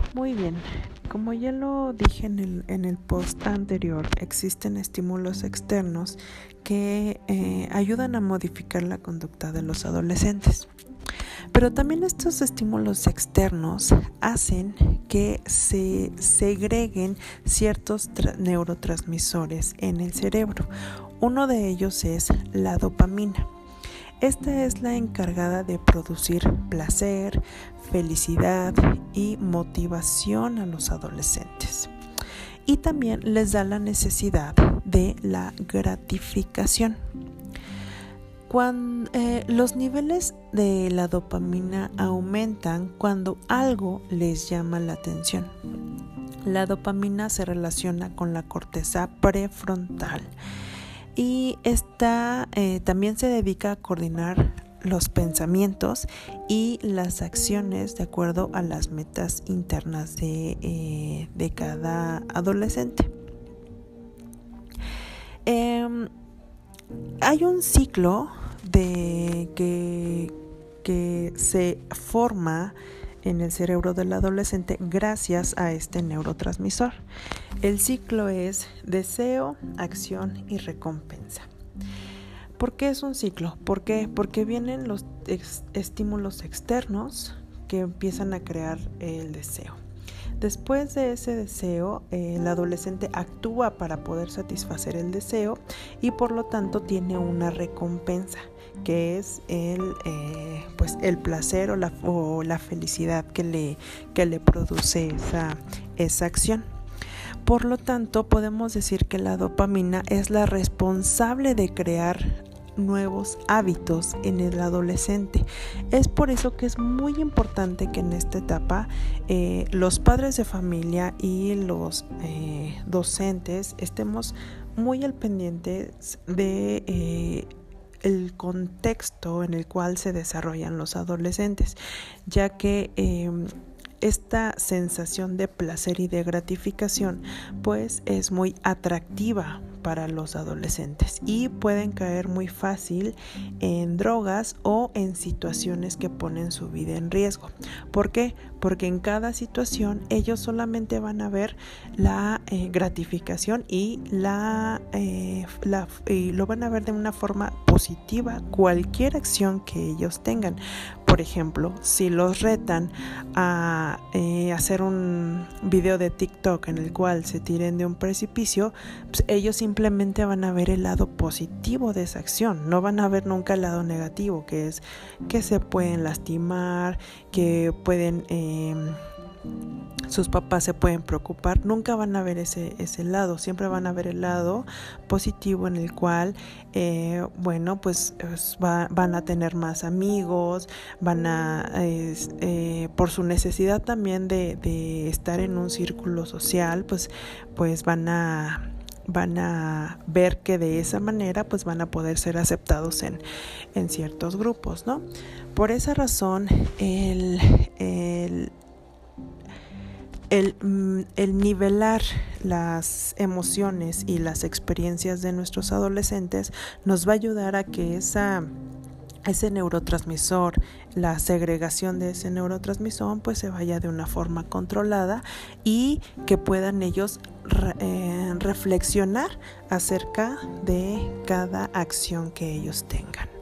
Muy bien, como ya lo dije en el post anterior, existen estímulos externos que ayudan a modificar la conducta de los adolescentes. Pero también estos estímulos externos hacen que se segreguen ciertos neurotransmisores en el cerebro. Uno de ellos es la dopamina. Esta es la encargada de producir placer, felicidad y motivación a los adolescentes. Y también les da la necesidad de la gratificación. Los niveles de la dopamina aumentan cuando algo les llama la atención. La dopamina se relaciona con la corteza prefrontal y esta también se dedica a coordinar los pensamientos y las acciones de acuerdo a las metas internas de cada adolescente. Hay un ciclo que se forma en el cerebro del adolescente gracias a este neurotransmisor. El ciclo es deseo, acción y recompensa. ¿Por qué es un ciclo? ¿Por qué? Porque vienen los estímulos externos que empiezan a crear el deseo. Después de ese deseo, el adolescente actúa para poder satisfacer el deseo y por lo tanto tiene una recompensa, que es el placer o la felicidad que le produce esa acción. Por lo tanto, podemos decir que la dopamina es la responsable de crear nuevos hábitos en el adolescente. Es por eso que es muy importante que en esta etapa los padres de familia y los docentes estemos muy al pendiente de el contexto en el cual se desarrollan los adolescentes, ya que esta sensación de placer y de gratificación pues es muy atractiva para los adolescentes y pueden caer muy fácil en drogas o en situaciones que ponen su vida en riesgo. ¿Por qué? Porque en cada situación ellos solamente van a ver la gratificación y lo van a ver de una forma positiva cualquier acción que ellos tengan. Por ejemplo, si los retan a hacer un video de TikTok en el cual se tiren de un precipicio, pues ellos simplemente van a ver el lado positivo de esa acción, no van a ver nunca el lado negativo, que es que se pueden lastimar, que pueden sus papás se pueden preocupar. Nunca van a ver ese lado, siempre van a ver el lado positivo en el cual van a tener más amigos, van a por su necesidad también de estar en un círculo social, pues van a ver que de esa manera pues van a poder ser aceptados en ciertos grupos, ¿no? Por esa razón el nivelar las emociones y las experiencias de nuestros adolescentes nos va a ayudar a que ese neurotransmisor, la segregación de ese neurotransmisor pues se vaya de una forma controlada y que puedan ellos reflexionar acerca de cada acción que ellos tengan.